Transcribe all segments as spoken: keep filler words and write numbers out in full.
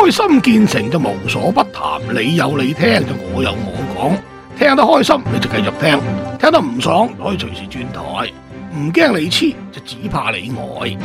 開心見誠就無所不談，你有你聽就我有我講，聽得開心你就繼續聽，聽得唔爽就可以隨時轉台，唔驚你黐就只怕你呆。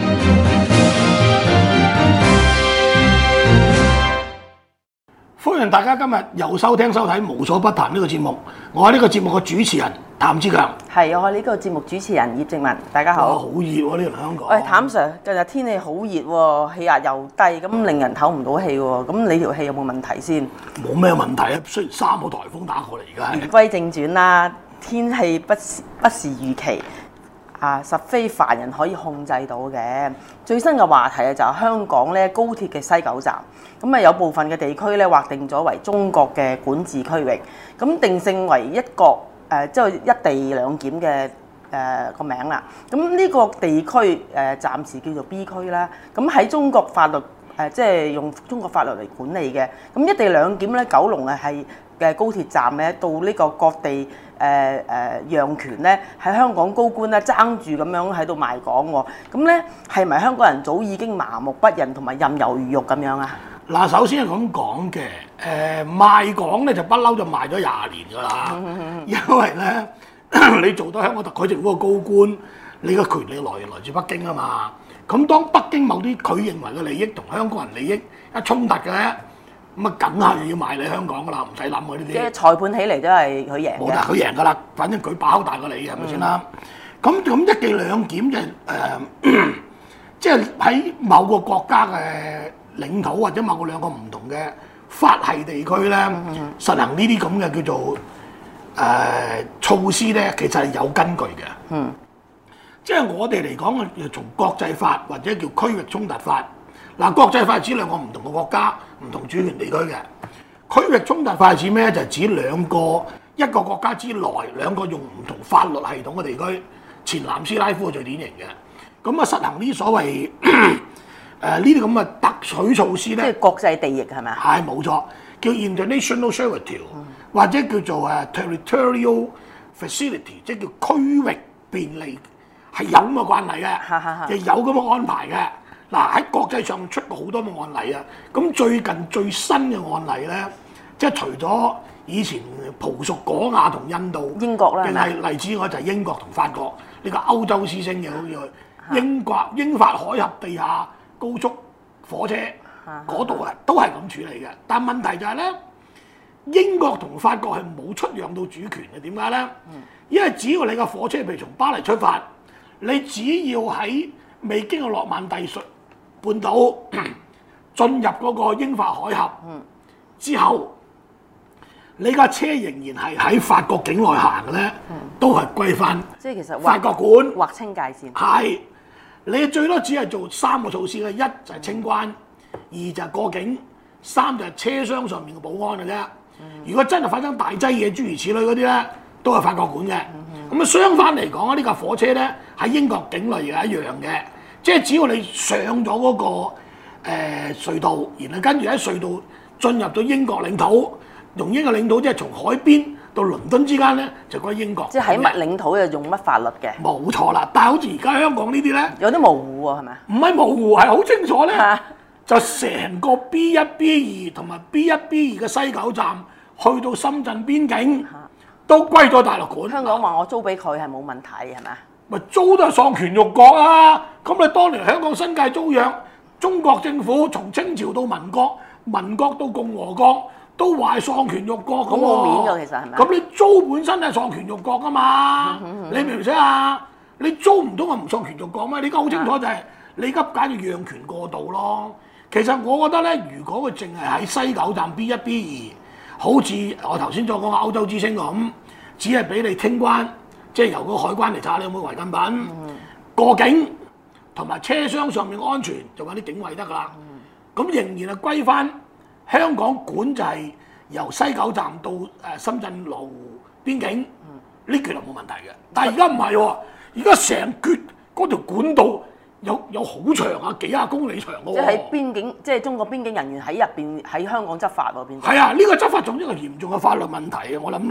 歡迎大家今日又收聽收睇無所不談呢個節目，我係呢個節目嘅主持人譚志強， 係我係呢個節目主持人葉靜文，大家好。 好熱喎呢個香港。 喂，譚 Sir，近日天氣好熱喎，氣壓又低，咁令人唞唔到氣喎。咁你條氣有冇問題先？ 冇咩問題啊，雖然三個颱風打過嚟而家。 言歸正傳啦，天氣不是不是預期。啊，實非凡人可以控制到嘅。最新嘅話題啊，就係香港咧高鐵嘅西九站，咁啊有部分嘅地區咧劃定咗為中國嘅管治區域，咁定性為一國誒，即係一地兩檢嘅誒個名啦。咁呢個地區誒、呃、暫時叫做 B 區啦。咁喺中國法律誒、呃，即係用中國法律嚟管理嘅。咁一地兩檢咧，九龍啊係嘅高鐵站咧，到呢個各地。誒誒讓權咧，喺香港高官咧爭住咁樣喺度賣港喎，咁咧係咪香港人早已經麻木不仁同埋任由魚肉咁樣啊？ 嗱，首先係咁講嘅，誒、呃、賣港咧就不嬲就賣咗廿年㗎啦，因為咧你做到香港特區政府嘅高官，你嘅權力來源來自北京啊嘛，咁當北京某啲佢認為嘅利益同香港人利益一衝突嘅咧。咁啊，梗係要賣你香港噶啦，唔使諗嗰啲啲。即係裁判起嚟都係佢贏嘅。 冇得佢贏噶啦，反正佢把口大過你，係咪先啦？咁咁、嗯、一地兩檢就誒、呃，即係喺某個國家嘅領土或者某個兩個唔同嘅法系地區咧，嗯嗯實行呢啲咁嘅叫做誒、呃、措施咧，其實係有根據嘅。嗯。即係我哋嚟講，要從國際法或者叫區域衝突法。嗱，國際法係指兩個唔同嘅國家、唔同主權地區嘅。區域衝突法係指咩？就係指兩個一個國家之內兩個用唔同法律系統嘅地區。前南斯拉夫係最典型嘅。咁啊，實行呢所謂誒呢啲咁嘅特許措施咧， 即係國際地役係咪啊？ 係冇錯，叫 international servitude、嗯、或者叫做誒 territorial facility， 即係叫區域便利，係有咁嘅慣例嘅，就有咁嘅安排嘅。嗱，喺國際上出過好多嘅案例啊，咁最近最新嘅案例咧，即係除咗以前葡屬果亞同印度， 英國啦， 定係例子我就係英國同法國呢、這個歐洲之星嘅，好似英國英法海峽地下高速火車嗰度啊，都係咁處理嘅。但問題就係咧，英國同法國係冇出讓到主權嘅，點解咧？因為只要你個火車譬如從巴黎出發，你只要喺未經過諾曼第述半島進入嗰個英法海峽之後，你架車仍然係喺法國境內行嘅咧，都係歸翻。即係其實法國管劃清界線。係， 你最多只係做三個措施嘅，一就係清關，二就係過境，三就係車廂上面嘅保安嘅啫。如果真係發生大劑嘢，諸如此類嗰啲咧，都係法國管嘅。咁啊，相反嚟講啊，呢架火車咧喺英國境內亦係一樣嘅。即係只要你上咗嗰、那個誒、呃、隧道，然後跟住喺隧道進入咗英國領土，用英國領土即係從海邊到倫敦之間咧，就歸英國。 即係喺乜領土又用乜法律嘅？ 冇錯啦，但係好似而家香港呢啲咧， 有啲模糊喎，係咪？ 唔係模糊，係好清楚咧。就成個 B 一 B 二同埋 B 一 B 二嘅西九站去到深圳邊境，都歸咗大陸管。 香港話我租俾佢係冇問題，係咪？ 咪租都係喪權辱國啊！咁你當年香港新界租約，中國政府從清朝到民國，民國到共和國都話係喪權辱國咁喎。 冇面㗎，其實係咪？ 咁你租本身係喪權辱國㗎嘛？嗯嗯、你明唔明啊？你租唔到我唔喪權辱國咩？你而家好清楚就係、是、你而家簡直讓權過度咯。其實我覺得咧，如果佢淨係喺西九站 B 一 B 二，好似我頭先所講嘅歐洲之星咁，只係俾你清關。即係由個海關嚟查你有冇違禁品，嗯、過境同埋車廂上面安全就揾啲警衛得㗎啦。咁、嗯、仍然係歸翻香港管，就係由西九站到誒深圳羅湖邊境呢橛係冇問題嘅。但係而家唔係喎，而家成橛嗰條管道有有好長啊，幾廿公里長嘅喎。 即係喺邊境，即係中國邊境人員喺入邊喺香港執法喎，變。 係啊，呢、呢個執法仲一個嚴重嘅法律問題啊！我諗你。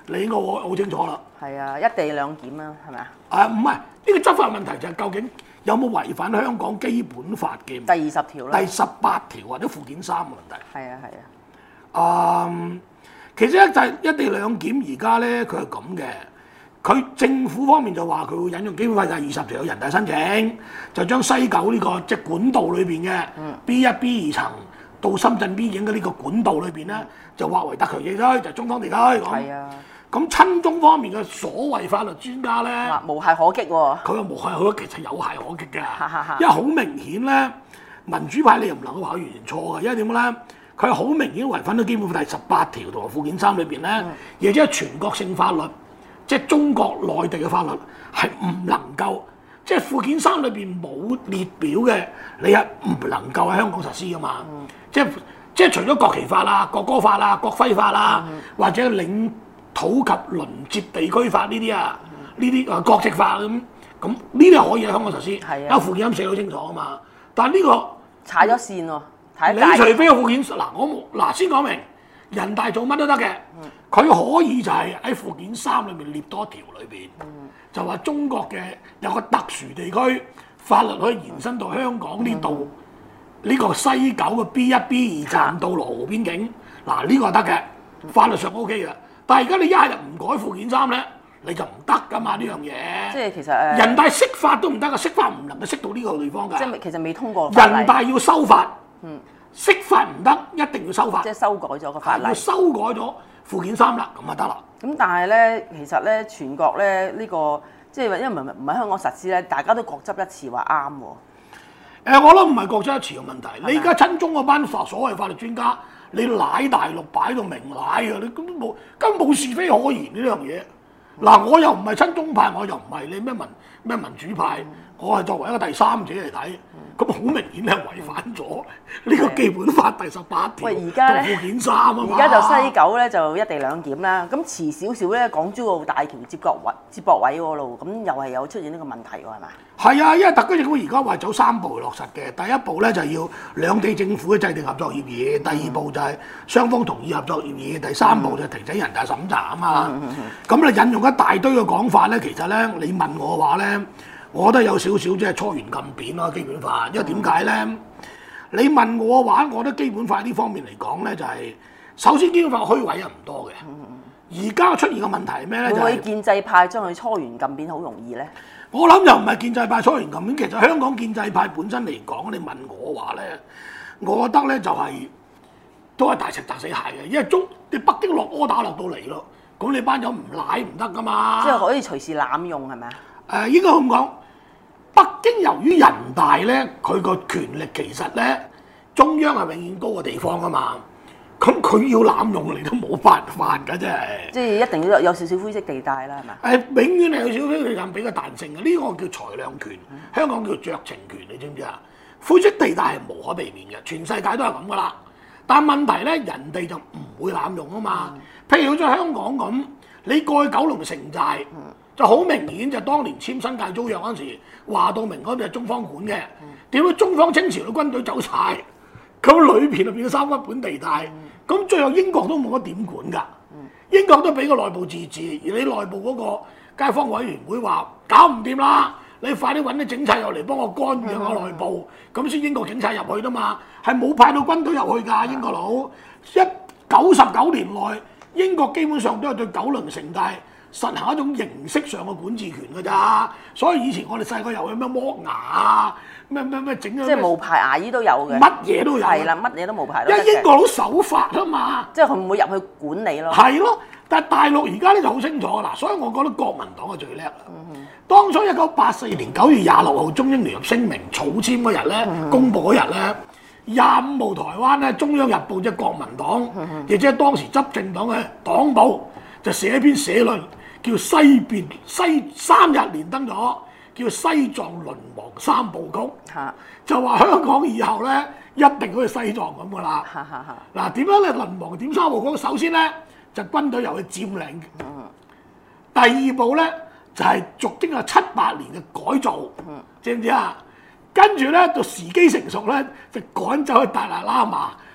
你應該好好清楚啦。 係啊，一地兩檢啊，係咪啊？ 啊，唔係呢個執法問題就係究竟有冇違反香港基本法嘅第二十條啦， 第十八條或者附件三嘅問題。 係啊係啊。 啊、嗯，其實一就係一地兩檢而家咧，佢係咁嘅。佢政府方面就話佢會引用基本法第二十條有人大申請，就將西九呢、這個即係管道裏邊嘅 B 一 B 二層到深圳邊境嘅呢個管道裏邊咧，就劃為特權地區，就係、中方地區咁。係啊。咁親中方面嘅所謂法律專家咧， 無懈可擊喎、哦。 佢話無懈可擊，其實有懈可擊嘅，因為好明顯咧，民主派你又唔能夠話佢完全錯嘅，因為點解咧？佢係好明顯違反咗基本法第十八條同埋附件三裏邊咧，亦即係全國性法律。即係中國內地嘅法律係唔能夠，即係附件三裏邊冇列表嘅，你係唔能夠喺香港實施噶嘛？嗯、即係即係除咗國旗法啦、國歌法啦、國徽法啦，嗯、或者領土及鄰接地區法呢啲啊，呢啲啊國籍法咁，咁呢啲可以喺香港實施。係啊，附件三寫好清楚啊嘛。但係、這、呢個踩咗線喎， 你除非有附件嗱，我冇嗱先講明。人大做乜都得嘅，佢可以就係喺附件三裏面列多條裏邊，嗯、就話中國嘅有個特殊地區法律可以延伸到香港呢度呢個西九嘅 B 一 B 二站到羅湖邊境，嗱呢、呢個係得嘅，法律上 O K 嘅。但係而家你一係就唔改附件三咧，你就唔得噶嘛呢樣嘢。即係其實誒，人大釋法都唔得噶，釋法唔能夠釋到呢個地方㗎。即係其實未通過。人大要修法。嗯。釋法唔得，一定要修法。即係修改咗個法例。要修改咗附件三啦，咁就得啦。咁但係咧，其實咧，全國咧呢、呢個即係因為唔係唔係香港實施咧，大家都各執一詞話啱喎。誒，我諗唔係各執一詞嘅問題。嗎你而家親中嗰班所謂法律專家，你賴大陸擺到明賴啊！你根本冇根本冇是非可言呢樣嘢。嗱、嗯，我又唔係親中派，我又唔係你咩民咩民主派，嗯、我係作為一個第三者嚟睇。咁好明顯係違反咗呢個基本法第十八條同附件三啊嘛！而家就西九咧就一地兩檢啦，咁遲少少咧港珠澳大橋接駁位接駁位嗰度，咁又係有出現呢個問題喎，係嘛？係啊，因為特區政府而家話走三步落實嘅，第一步咧就要兩地政府制定合作協議，第二步就係雙方同意合作協議，第三步就提請人大審查啊嘛。咁你、嗯嗯嗯、引用一大堆嘅講法咧，其實咧你問我嘅話咧。我覺得有少少即係初原禁扁咯，基本法，因為點解咧？嗯、你問我嘅話，我覺得基本法呢方面嚟講咧，就係、是、首先基本法虛位又唔多嘅。而家出現嘅問題係咩咧？會唔會建制派將佢初原禁扁好容易咧？我諗又唔係建制派初原禁扁，其實香港建制派本身嚟講，你問我話咧，我覺得咧就係、是、都係大石砸死蟹嘅，因為中你北京落柯打落到嚟咯，咁你班友唔賴唔得噶嘛。即係可以隨時濫用係咪啊？誒、呃、應該咁講。北京由於人大咧，佢個權力其實咧，中央係永遠高嘅地方啊嘛。咁佢要濫用你都冇辦法㗎，真係。即係一定要有有少少灰色地帶啦，係嘛？誒，永遠係有少少灰色地帶俾個彈性嘅，呢、這個叫裁量權，嗯、香港叫酌情權，你知唔知啊？灰色地帶係無可避免嘅，全世界都係咁噶啦。但問題咧，人哋就唔會濫用啊嘛。嗯、譬如好似香港咁，你過去九龍城寨。嗯就好明顯就當年簽新界租約嗰陣時，話到明嗰邊係中方管嘅。點解中方清朝嘅軍隊走晒？咁裏邊就變咗三不管地帶。咁最後英國都冇乜點管㗎。英國都俾個內部自治，而你內部嗰個街坊委員會話搞唔掂啦，你快啲揾啲警察入嚟幫我干預我內部，咁先英國警察入去㗎嘛。係冇派到軍隊入去㗎，英國佬。一九十九年內，英國基本上都係對九龍城寨實行一種形式上嘅管治權㗎咋，所以以前我哋細個又有咩剝牙啊，咩咩咩整咗，即係無牌牙醫都有嘅，乜嘢都有，係啦，乜嘢都無牌都得嘅。因為英國佬守法啊嘛，即係佢唔會入去管理咯。係咯，但係大陸而家咧就好清楚㗎啦，所以我覺得國民黨係最叻啦。嗯、哼當初一九八四年九月廿六號中英聯合聲明草簽嗰日咧，嗯、哼公佈嗰日咧，廿五號台灣咧中央日報即係國民黨，亦、嗯、哼即係當時執政黨嘅黨報，就寫一篇社論。叫西邊西三日連登咗，叫西藏淪亡三部曲，啊、就話香港以後咧一定好似西藏咁噶啦。嗱點、啊、樣咧淪亡點三部曲？首先咧就軍隊由佢佔領，嗯、第二步咧就係、是、逐經過七八年嘅改造，嗯、知唔知啊？跟住咧就時機成熟咧就趕走去達賴喇嘛，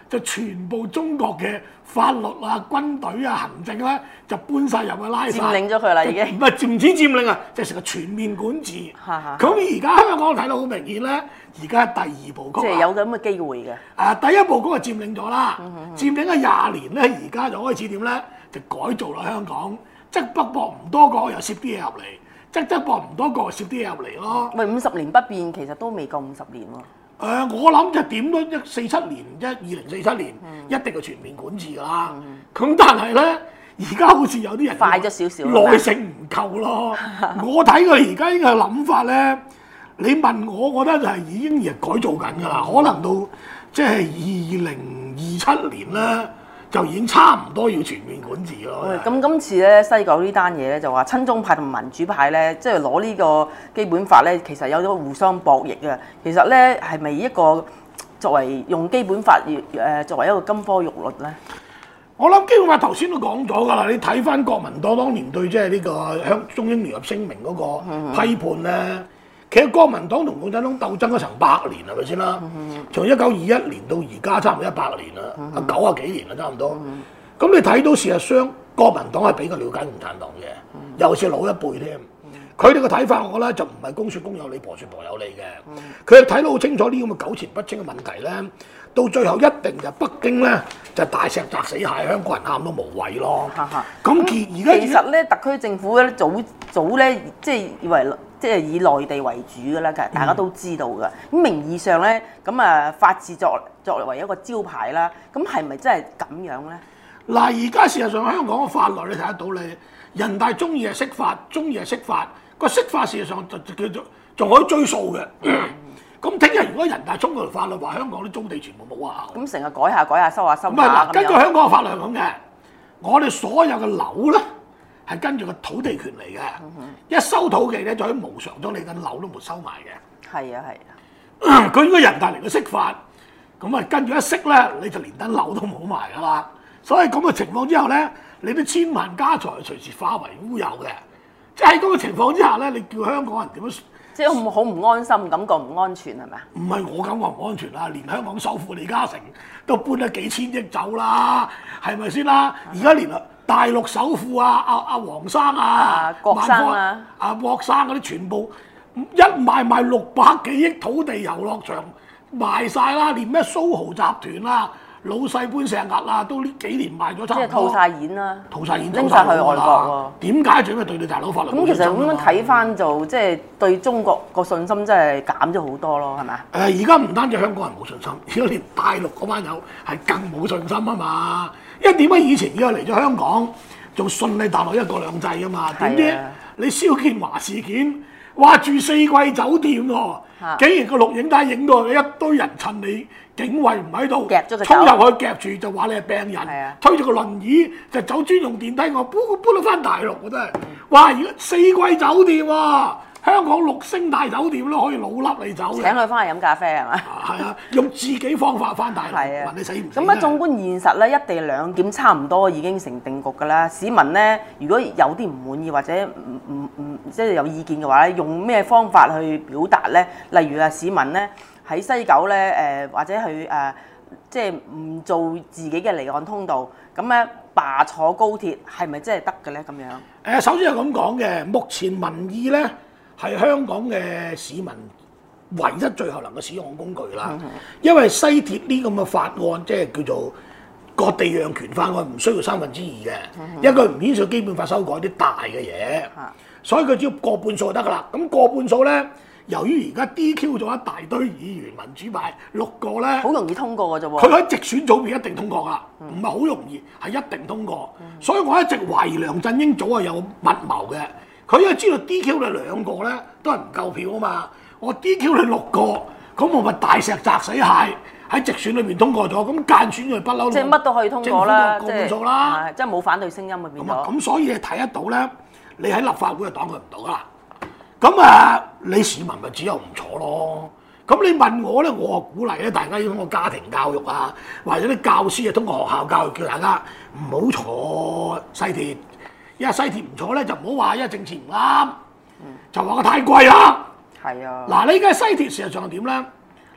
就全部中國嘅法律啊、軍隊啊、行政咧就搬晒入去拉晒， 佔領咗佢啦已經。 唔係唔止佔領啊，就成個全面管治。 咁而家香港睇到好明顯咧，而家第二部曲即係有咁嘅機會嘅。 啊，第一部曲就佔領咗啦， 嗯嗯嗯佔領咗廿年咧，而家就開始點咧？就改造啦香港，即北駁唔多個又攝啲嘢入嚟，即側駁唔多個攝啲嘢入嚟咯。 喂，五十年不變其實都未夠五十年喎。 誒、呃，我諗就點都一四七年，一二零四七年、嗯、一定係全面管治㗎啦。咁、嗯、但係咧，而家好似有啲人快咗少少， 耐性唔夠咯。我睇佢而家呢個諗法咧，你問我，我覺得就係已經係改造緊㗎啦。可能到即係二零二七年咧，就已經差唔多要全面管治咯。 咁今次咧西九呢單嘢咧就話親中派同民主派咧，即係攞呢個基本法咧，其實有咗互相博弈嘅。其實咧係咪一個作為用基本法誒作為一個金科玉律咧？ 我諗基本法頭先都講咗㗎啦，你睇翻國民黨當年對即係呢個香中英聯合聲明嗰個批判咧。嗯其實國民黨同共產黨鬥爭咗成百年係咪先啦？從一九二一年到而家差唔多一百年啦，啊九啊幾年啦差唔多。咁你睇到事實上國民黨係比較了解共產黨嘅，尤其是老一輩添。佢哋嘅睇法我覺得就唔係公説公有理，婆説婆有理嘅。佢哋睇到好清楚呢咁嘅糾纏不清嘅問題咧，到最後一定就北京咧就大石砸死蟹，香港人喊都無謂咯。咁而家其實咧，特區政府咧早早咧即係以為。即係以內地為主嘅啦，其實大家都知道嘅。咁、嗯、名義上咧，咁啊法治作作為一個招牌啦，咁係咪真係咁樣咧？ 嗱，而家事實上香港嘅法律你睇得到你人大中意係釋法，中意係釋法，個釋法事實上就叫做仲可以追溯嘅。咁聽日如果人大衝嗰條法律話香港啲租地全部冇效， 咁成日改下改下收下收下。 唔係嗱，根據香港嘅法律係咁嘅，我哋所有嘅樓咧。係跟住個土地權嚟嘅，嗯、一收土地咧就可以無償將你間樓都沒收埋嘅。 係啊係啊， 佢應該人大嚟嘅釋法，咁啊跟住一釋咧，你就連間樓都冇埋噶啦。所以咁嘅情況之後咧，你啲千萬家財隨時化為烏有嘅。即係喺咁嘅情況之下咧，你叫香港人點樣？ 即係好唔安心，感覺唔安全係咪啊？ 唔係我感覺唔安全啦，連香港首富李嘉誠都搬咗幾千億走啦，係咪先啦？而家連啊〜大陸首富啊，阿阿黃生啊， 啊郭生啊， 阿郭生嗰啲全部一賣賣六百幾億土地遊樂場賣晒啦，連咩蘇豪集團啊、老細搬石屹啊，都呢幾年賣咗差唔多。即係套晒現啦， 套晒現拎晒去外國喎。點解做咩對你大佬法律？ 咁其實咁樣睇翻就即係對中國個信心真係減咗好多咯，係咪啊？ 誒，而家唔單止香港人冇信心，而家連大陸嗰班友係更冇信心啊嘛。因為點解以前而家嚟咗香港仲順利大陸一國兩制啊嘛？點知你蕭建華事件，話住四季酒店喎，啊、竟然個錄影帶影到一堆人趁你警衛唔喺度，衝入去夾住就話你係病人，啊、推住個輪椅就走專用電梯，我搬搬到翻大陸我真係，哇！而家四季酒店喎、啊。香港六星大酒店都可以老笠你走嘅， 請佢翻嚟飲咖啡係嘛？ 係啊，用自己方法翻大陸，問你死唔死？ 咁啊，縱觀現實咧，一地兩檢差唔多已經成定局㗎啦。市民咧，如果有啲唔滿意或者唔唔唔即係有意見嘅話咧，用咩方法去表達咧？例如啊，市民咧喺西九咧誒、呃，或者去誒、呃，即係唔做自己嘅離岸通道，咁咧罷坐高鐵係咪真係得嘅咧？咁樣誒， 首先係咁講嘅，目前民意咧。係香港嘅市民唯一最後能夠使用嘅工具啦，嗯、因為西鐵呢咁嘅法案，即係叫做割地讓權法案，唔需要三分之二嘅，嗯、因為佢唔牽涉基本法修改啲大嘅嘢，嗯、所以佢只要過半數就得噶啦。咁過半數咧，由於而家 D Q 咗一大堆議員，民主派六個咧， 好容易通過嘅啫喎。 佢喺直選組別一定通過噶，唔係好容易，係一定通過。嗯、所以我一直懷疑梁振英組係有密謀嘅。佢因為知道 D Q 你兩個咧都係唔夠票啊嘛，我 D Q 你六個，咁我咪大石砸死蟹喺直選裏邊通過咗，咁間選佢不嬲。即係乜都可以通過啦， 過半數啦， 即係冇反對聲音嘅變咗。 咁所以你睇得到咧，你喺立法會就擋佢唔到啦。咁啊，你市民咪只有唔坐咯。咁你問我咧，我啊鼓勵咧，大家要通過家庭教育啊，或者啲教師啊通過學校教育，叫大家唔好坐西鐵。因為西鐵唔坐咧，就唔好話因為政治唔啱，嗯、就話佢太貴啦。係啊，嗱，你而家西鐵事實上係點咧？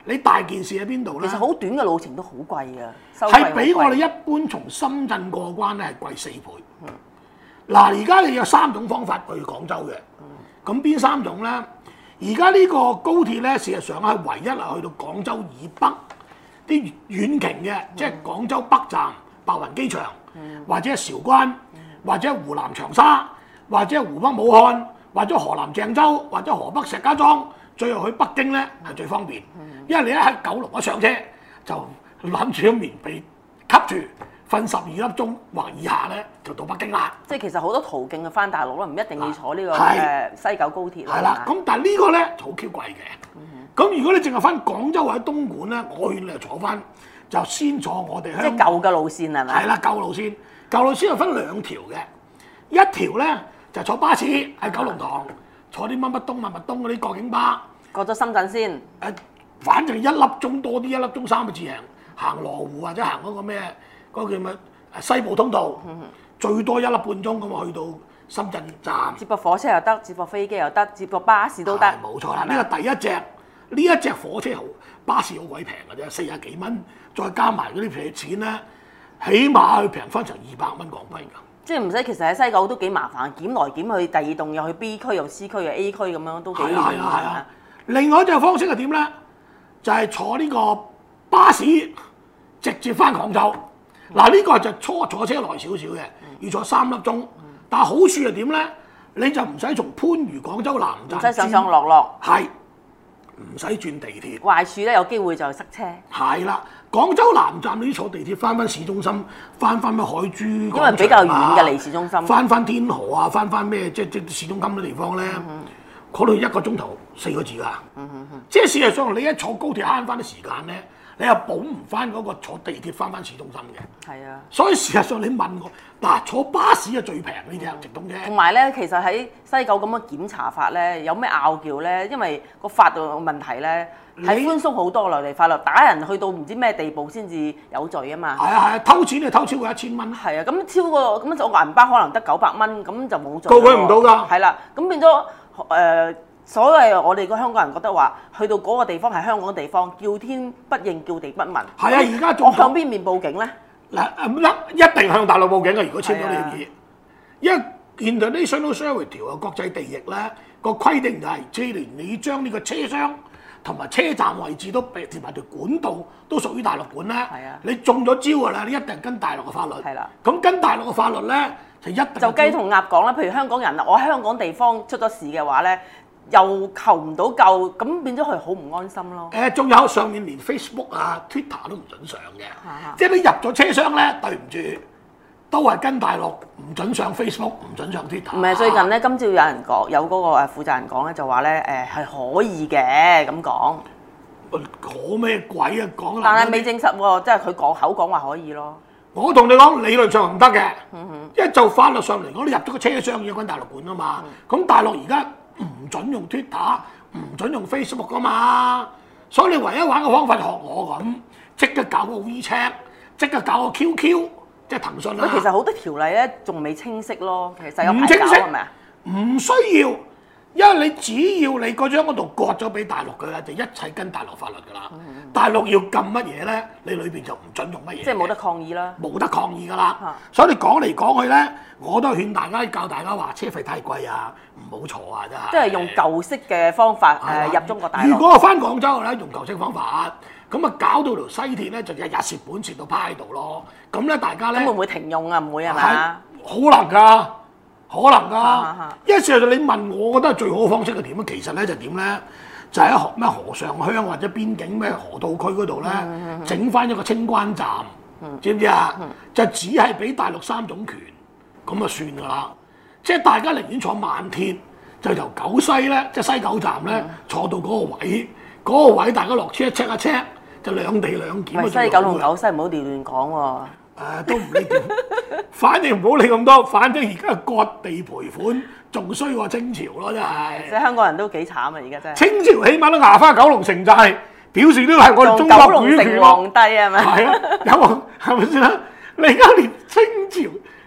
你大件事喺邊度咧？ 其實好短嘅路程都好貴㗎，收費好貴係比我哋一般從深圳過關咧係貴四倍。嗱、嗯，而家你有三種方法去廣州嘅，咁邊、嗯、三種咧？而家呢個高鐵咧，事實上係唯一係去到廣州以北啲遠程嘅，嗯、即係廣州北站、白雲機場，嗯、或者係韶關，嗯、或者係湖南長沙，或者係湖北武漢，或者河南鄭州，或者河北石家莊。最後去北京咧係最方便，因為你一喺九龍一上車就攬住個棉被吸住，瞓十二粒鐘或以下咧就到北京啦。 即係其實好多途徑去翻大陸咯，唔一定要坐呢、呢個誒、 啊呃、西九高鐵啦。 係啦，咁但係呢個咧就好 Q 貴嘅。咁、嗯、如果你淨係翻廣州或者東莞咧，我勸你就坐翻就先坐我哋香港。 即係舊嘅路線係咪？ 係啦，舊路線，舊路線又分兩條嘅，一條咧就坐巴士喺九龍塘。坐啲乜乜東乜乜東嗰啲過境巴， 過咗深圳先。 誒，反正一粒鐘多啲，一粒鐘三個字行，行羅湖或者行嗰個咩嗰、嗰個叫乜西部通道，嗯、最多一粒半鐘咁啊去到深圳站。 接駁火車又得，接駁飛機又得，接駁巴士都得。 冇錯啦，呢個第一隻，呢一隻火車好，巴士好鬼平嘅啫，四十幾蚊，再加埋嗰啲皮錢咧，起碼去平翻成二百蚊港幣㗎。 即係唔使，其實喺西九都幾麻煩，檢來檢去，第二棟又去 B 區又 C 區又 A 區咁樣都幾遠。係啊係啊係啊！ 另外一隻方式係點咧？就係、是、坐呢個巴士直接翻廣州。嗱呢、嗯、個就初坐車耐少少嘅，要坐三粒鐘。嗯、但係好處係點咧？你就唔使從番禺廣州南站， 唔使上上落落。 係唔使轉地鐵。 壞處咧有機會就塞車。係啦。廣州南站你坐地鐵翻翻市中心，翻翻咩海珠廣場啊， 因為比較遠嘅離市中心， 翻翻天河啊，翻翻咩即即市中心嘅地方咧，嗰度、嗯、哼一個鐘頭四個字㗎，嗯、哼即係事實上你一坐高鐵慳翻啲時間咧，你又補唔翻嗰個坐地鐵翻翻市中心嘅。係啊，所以事實上你問我嗱，坐巴士係最平呢隻直通車。 同埋咧，其實喺西九咁嘅檢查法咧，有咩拗撬咧？因為個法律問題咧。係寬鬆好多內地法律，打人去到唔知咩地步先至有罪啊嘛。係啊係啊，偷錢你偷超過一千蚊。 係啊，咁超過咁我銀包可能得九百蚊，咁就冇罪。 告佢唔到㗎。 係啦，咁變咗誒、呃，所謂我哋個香港人覺得話，去到嗰個地方係香港嘅地方，叫天不應，叫地不聞。係啊， 而家仲我向邊面報警咧？ 嗱唔得，一定向大陸報警嘅。如果簽咗呢樣嘢，因為 International Service 條嘅國際地役咧個規定就係，即係你將呢個車廂同埋車站位置都被連埋條管道都屬於大陸管咧，啊、你中咗招㗎啦，你一定跟大陸嘅法律。係啦、啊，咁跟大陸嘅法律咧就一定就雞同鴨講啦。譬如香港人我喺香港地方出咗事嘅話咧，又求唔到救，咁變咗佢好唔安心咯。 誒、呃，仲有上面連 Facebook 啊、Twitter 都唔準上嘅，啊、即係你入咗車廂咧，對唔住。都係跟大陸唔準上 Facebook，唔準上 Twitter。唔係最近咧，今朝有人講，有嗰個誒負責人講咧，就話咧誒係可以嘅咁講。 講咩鬼啊講？ 但係未證實喎，即係佢講口講話可以咯。 我同你講理論上唔得嘅，嗯、哼因為就法律上嚟講，你入咗個車廂要跟大陸管啊嘛。咁、嗯、大陸而家唔準用 Twitter，唔準用 Facebook 噶嘛。所以你唯一玩嘅方法學我咁，即刻搞個 WeChat，即刻搞個 Q Q。即係騰訊啦。 其實好多條例咧，仲未清晰咯。其實有排搞係咪啊？ 唔需要，因為你只要你嗰張嗰度割咗俾大陸嘅咧，就一切跟大陸法律㗎啦。嗯嗯大陸要禁乜嘢咧，你裏邊就唔準用乜嘢。 即係冇得抗議啦。 冇得抗議㗎啦。啊、所以你講嚟講去咧，我都係勸大家教大家話車費太貴啊，唔好坐啊，真係。 即係用舊式嘅方法誒、呃、入中國大陸。 如果我翻廣州咧，用舊式方法。咁啊，搞到條西鐵咧，就日日蝕本蝕到趴喺度咯。咁咧，大家咧， 咁會唔會停用啊？唔會係咪？ 可能㗎，可能㗎。因為事實上你問我，我覺得最好嘅方式係點啊？其實咧就點咧，就喺河咩河上鄉或者邊境咩河套區嗰度咧，整翻一個清關站，嗯、知唔知啊？嗯、就只係俾大陸三種權，咁啊算㗎啦。即係大家寧願坐慢鐵，就由九西咧，即係西九站咧，嗯、坐到嗰個位，嗰、嗰個位大家落車 check 一 check。就兩地兩檢啊！ 西九同九西唔好亂亂講喎。 誒，都唔理點，反正唔好理咁多。反正而家割地賠款，仲衰過清朝咯，真係。 即係香港人都幾慘啊！而家真係。 清朝起碼都牙花九龍城寨，表示都係我哋中國主權咯。 九龍城皇帝係咪？ 係啊，有係咪先啦？你而家連清朝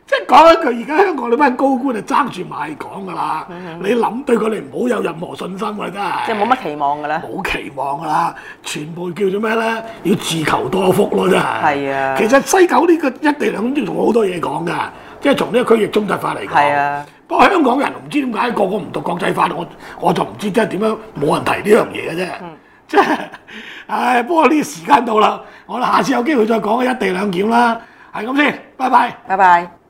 即係講一句，而家香港呢班高官就爭住賣港㗎啦。你諗對佢哋唔好有任何信心㗎，真係。 即係冇乜期望㗎啦。 冇期望㗎啦，全部叫做咩咧？要自求多福咯，真係。 係啊。其實西九呢個一地兩檢仲好多嘢講㗎，即係從呢個區域中特法嚟講。 係啊。 不過香港人唔知點解個個唔讀國際法，我我就唔知即係點樣冇人提呢樣嘢嘅啫。嗯。即係，唉，不過呢個時間到啦，我哋下次有機會再講一地兩檢啦。係咁先，拜拜。 拜拜。